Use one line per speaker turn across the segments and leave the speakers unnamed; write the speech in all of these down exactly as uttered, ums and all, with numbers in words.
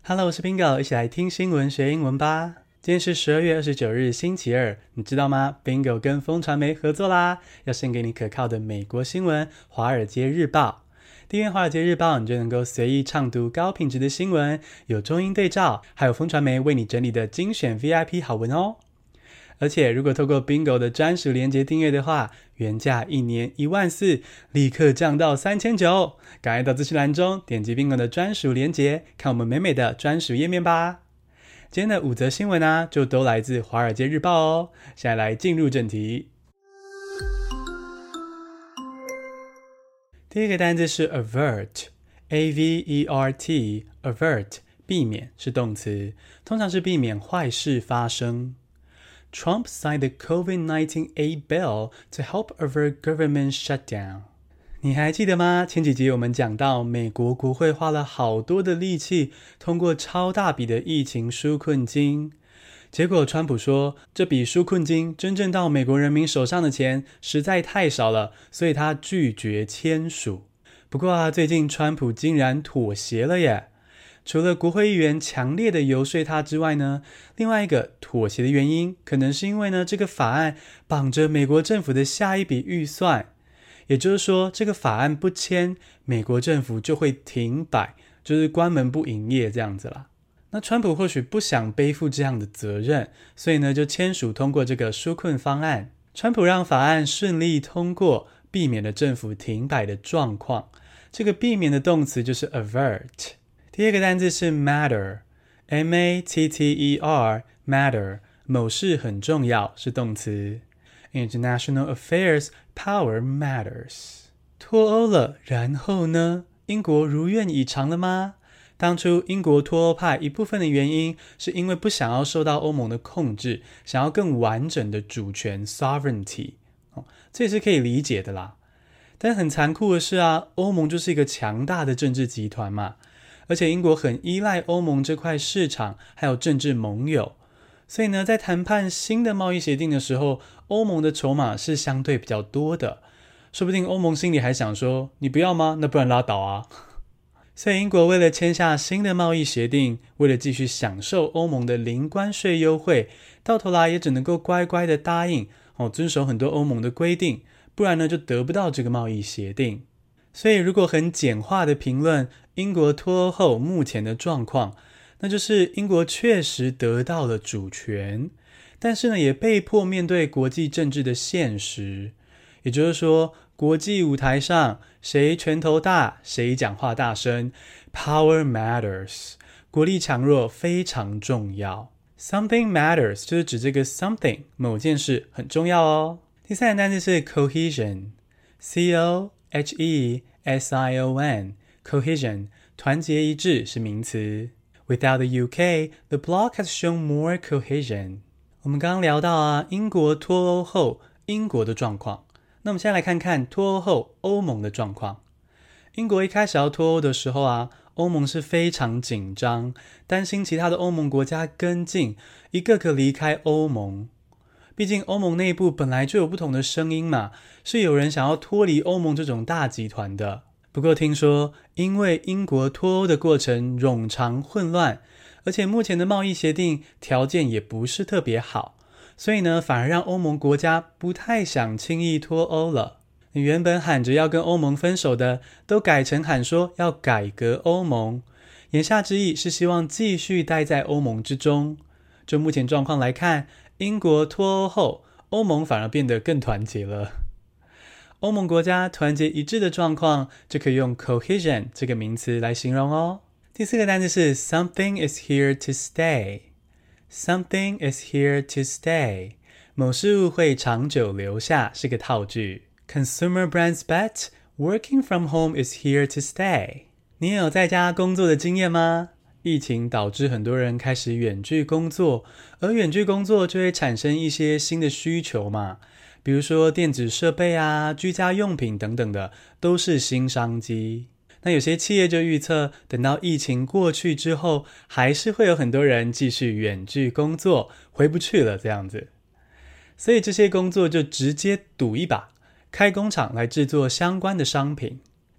Hello， 我是 Bingo， 一起來聽新聞學英文吧。今天是十二月二十九日星期二，你知道嗎？ Bingo 跟風傳媒合作啦，要獻給你可靠的美國新聞《華爾街日報》。訂閱《華爾街日報》，你就能夠隨意暢讀高品質的新聞，有中英對照，還有風傳媒為你整理的精選 V I P 好文哦。而且如果透過 Bingo 的專屬連結訂閱的話，原價一年一萬四，立刻降到三千九。趕快到資訊欄中點擊 Bingo 的專屬連結，看我們美美的專屬頁面吧。今天的五則新聞啊，就都來自《華爾街日報》哦。現在來進入正題。第一個單字是 avert，A V E R T，avert 避免是動詞，通常是避免壞事發生。Trump signed the COVID nineteen aid bill to help avert government shutdown. 你還記得嗎？前幾集我們講到，美國國會花了好多的力氣，通過超大筆的疫情紓困金。結果川普說，這筆紓困金真正到美國人民手上的錢實在太少了，所以他拒絕簽署。不過啊，最近川普竟然妥協了耶！除了國會議員強烈的遊說他之外呢，另外一個妥協的原因，可能是因為呢，這個法案綁着美國政府的下一筆預算，也就是說，這個法案不簽，美國政府就會停擺，就是關門不營業這樣子啦。那川普或許不想背負這樣的責任，所以呢，就簽署通過這個紓困方案。川普讓法案順利通過，避免了政府停擺的狀況。這個避免的動詞就是 avert。第二個單字是 matter，M A T T E R，matter， 某事很重要是動詞。International affairs power matters。脫歐了，然後呢？英國如願以償了嗎？當初英國脫歐派一部分的原因，是因為不想要受到歐盟的控制，想要更完整的主權 sovereignty，哦，這也是可以理解的啦。但很殘酷的是啊，歐盟就是一個強大的政治集團嘛。而且英國很依賴歐盟這塊市場，還有政治盟友，所以呢，在談判新的貿易協定的時候，歐盟的籌碼是相對比較多的。說不定歐盟心裡還想說，你不要嗎？那不然拉倒啊。所以英國為了簽下新的貿易協定，為了繼續享受歐盟的零關稅優惠，到頭來也只能夠乖乖的答應，哦，遵守很多歐盟的規定，不然呢就得不到這個貿易協定。所以如果很簡化的評論英國脫歐後目前的狀況，那就是英國確實得到了主權，但是呢也被迫面對國際政治的現實。也就是說，國際舞台上誰拳頭大，誰講話大聲， Power matters， 國力強弱非常重要。 Something matters 就是指這個 something 某件事很重要哦。第三個單詞是 cohesion， C O H E S I O N Cohesion 團結一致是名詞。 Without the U K, the bloc has shown more cohesion。 我們剛剛聊到啊，英國脫歐後英國的狀況，那我們現在來看看脫歐後歐盟的狀況。英國一開始要脫歐的時候啊，歐盟是非常緊張，擔心其他的歐盟國家跟進，一個個離開歐盟。畢竟歐盟內部本來就有不同的聲音嘛，是有人想要脫離歐盟這種大集團的。不過聽說因為英國脫歐的過程冗長混亂，而且目前的貿易協定條件也不是特別好，所以呢反而讓歐盟國家不太想輕易脫歐了。原本喊着要跟歐盟分手的，都改成喊說要改革歐盟，言下之意是希望繼續待在歐盟之中。就目前狀況來看，英國脫歐後，歐盟反而變得更團結了。歐盟國家團結一致的狀況，就可以用 cohesion 這個名詞來形容哦。第四個單詞是 something is here to stay。Something is here to stay， 某事物會長久留下是個套句。Consumer brands bet working from home is here to stay。 你也有在家工作的經驗嗎？疫情導致很多人開始遠距工作，而遠距工作就會產生一些新的需求嘛，比如說電子設備啊、居家用品等等的，都是新商機。那有些企業就預測，等到疫情過去之後，還是會有很多人繼續遠距工作，回不去了這樣子。所以這些工作就直接賭一把，開工廠來制作相關的商品。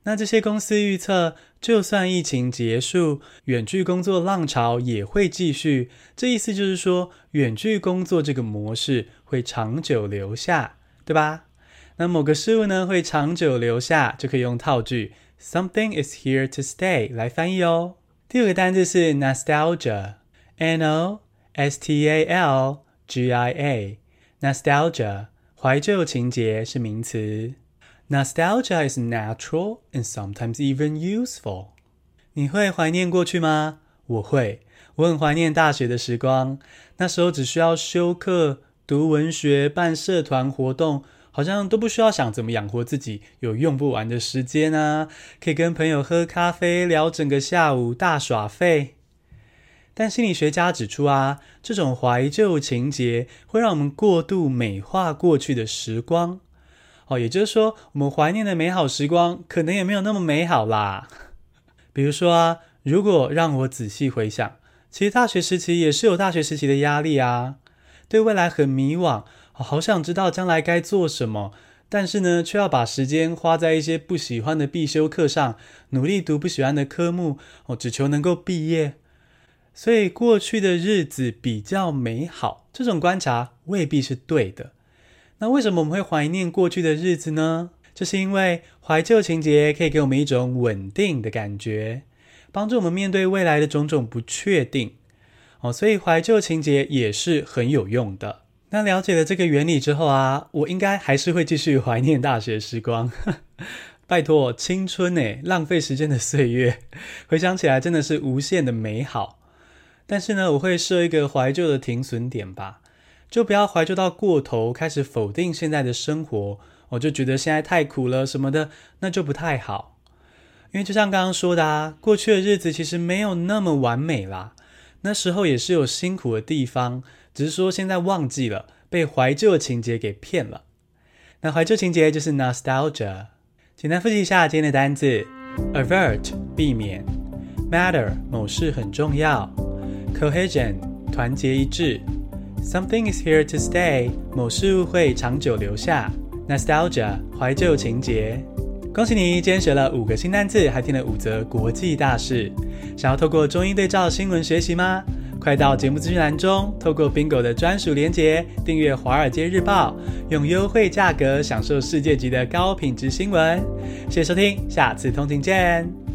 那這些公司預測，就算疫情結束，遠距工作浪潮也會繼續。這意思就是說，遠距工作這個模式會長久留下，對吧？那某個事物呢，會長久留下，就可以用套句 Something is here to stay 來翻譯哦。第五個單字是 nostalgia， N O S T A L G I A， nostalgia， 懷舊情結是名詞。Nostalgia is natural and sometimes even useful。 你會懷念過去嗎？我會，我很懷念大學的時光，那時候只需要修課、讀文學、辦社團活動，好像都不需要想怎麼養活自己，有用不完的時間啊，可以跟朋友喝咖啡，聊整個下午，大耍廢。但心理學家指出啊，這種懷舊情結會讓我們過度美化過去的時光。哦，也就是說，我們懷念的美好時光，可能也沒有那麼美好啦。比如說啊，如果讓我仔細回想，其實大學時期也是有大學時期的壓力啊，對未來很迷惘，哦，好想知道將來該做什麼，但是呢，卻要把時間花在一些不喜歡的必修課上，努力讀不喜歡的科目，哦，只求能夠畢業。所以過去的日子比較美好，這種觀察未必是對的。那為什麼我們會懷念過去的日子呢？就是因為懷舊情結可以給我們一種穩定的感覺，幫助我們面對未來的種種不確定。哦，所以懷舊情結也是很有用的。那了解了這個原理之後啊，我應該還是會繼續懷念大學時光。拜託，青春耶，浪費時間的歲月，回想起來真的是無限的美好。但是呢，我會設一個懷舊的停損點吧。就不要懷舊到過頭，開始否定現在的生活，我就覺得現在太苦了什麼的，那就不太好。因為就像剛剛說的啊，過去的日子其實沒有那麼完美啦，那時候也是有辛苦的地方，只是說現在忘記了，被懷舊的情結給騙了。那懷舊情結就是 nostalgia。簡單複習一下今天的單字 avert 避免， matter 某事很重要， cohesion 團結一致，Something is here to stay， 某事物會長久留下。Nostalgia， 懷舊情結。恭喜你，今天學了五個新單字，還聽了五則國際大事。想要透過中英對照新聞學習嗎？快到節目資訊欄中，透過 Bingo 的專屬連結，訂閱《華爾街日報》，用優惠價格享受世界級的高品質新聞。謝謝收聽，下次通勤見。